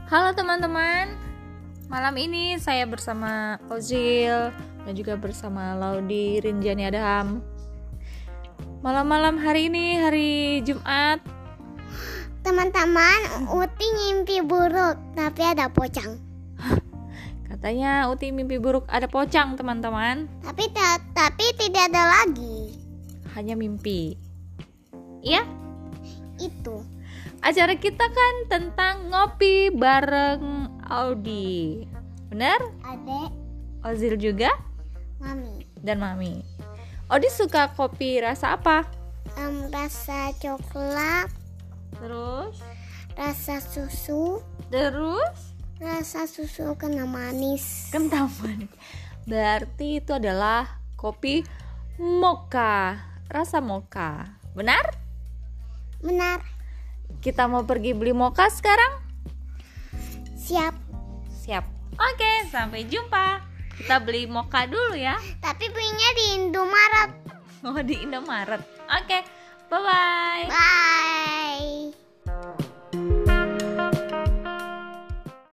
Halo teman-teman, malam ini saya bersama Ozil dan juga bersama Laudi Rinjani Adham. Malam-malam hari ini, hari Jumat. Teman-teman, Uti mimpi buruk, tapi ada pocang. Katanya Uti mimpi buruk ada pocang teman-teman. Tapi tidak ada lagi. Hanya mimpi. Iya? Itu. Acara kita kan tentang ngopi bareng Audi. Benar? Adek, Ozil juga? mami. Dan mami. Audi suka kopi rasa apa? Rasa coklat, Terus? rasa susu, Terus? rasa susu kena manis. Kental manis. Berarti itu adalah kopi mocha, rasa mocha. Benar? Benar. Kita mau pergi beli mocha sekarang? Siap. Siap. Oke, sampai jumpa. Kita beli mocha dulu ya. Tapi belinya di Indomaret. Oh, di Indomaret. Oke, bye-bye. Bye.